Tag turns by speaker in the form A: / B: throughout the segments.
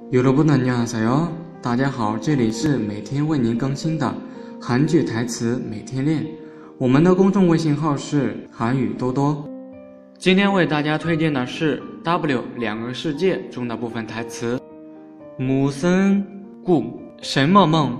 A: 여러분 안녕하세요，大家好，这里是每天为您更新的韩剧台词每天练。我们的公众微信号是韩语多多。今天为大家推荐的是 W 两个世界中的部分台词。무슨 꿈什么梦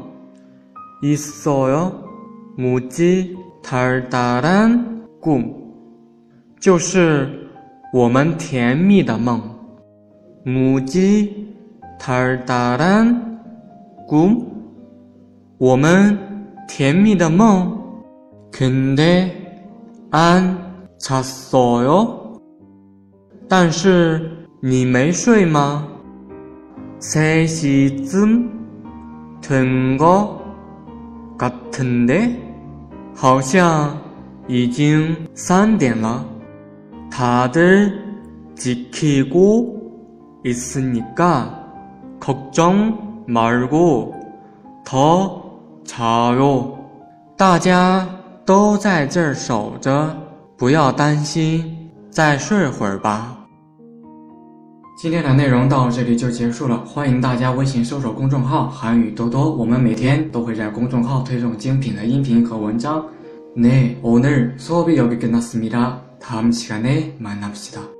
A: 있어요？무지 달달한 꿈就是我们甜蜜的梦。무지 달달한 꿈我们甜蜜的梦。근데 안 잤어요？但是你没睡吗？3시쯤 된 것 같은데？好像已经3点了。다들 지키고 있으니까 걱정 말고 더 자요。大家都在这儿守着，不要担心，再睡会儿吧。今天的内容到这里就结束了，欢迎大家微信搜索公众号韩语多多，我们每天都会在公众号推送精品的音频和文章。네，오늘수업이여기끝났습니다。다음시간에만납시다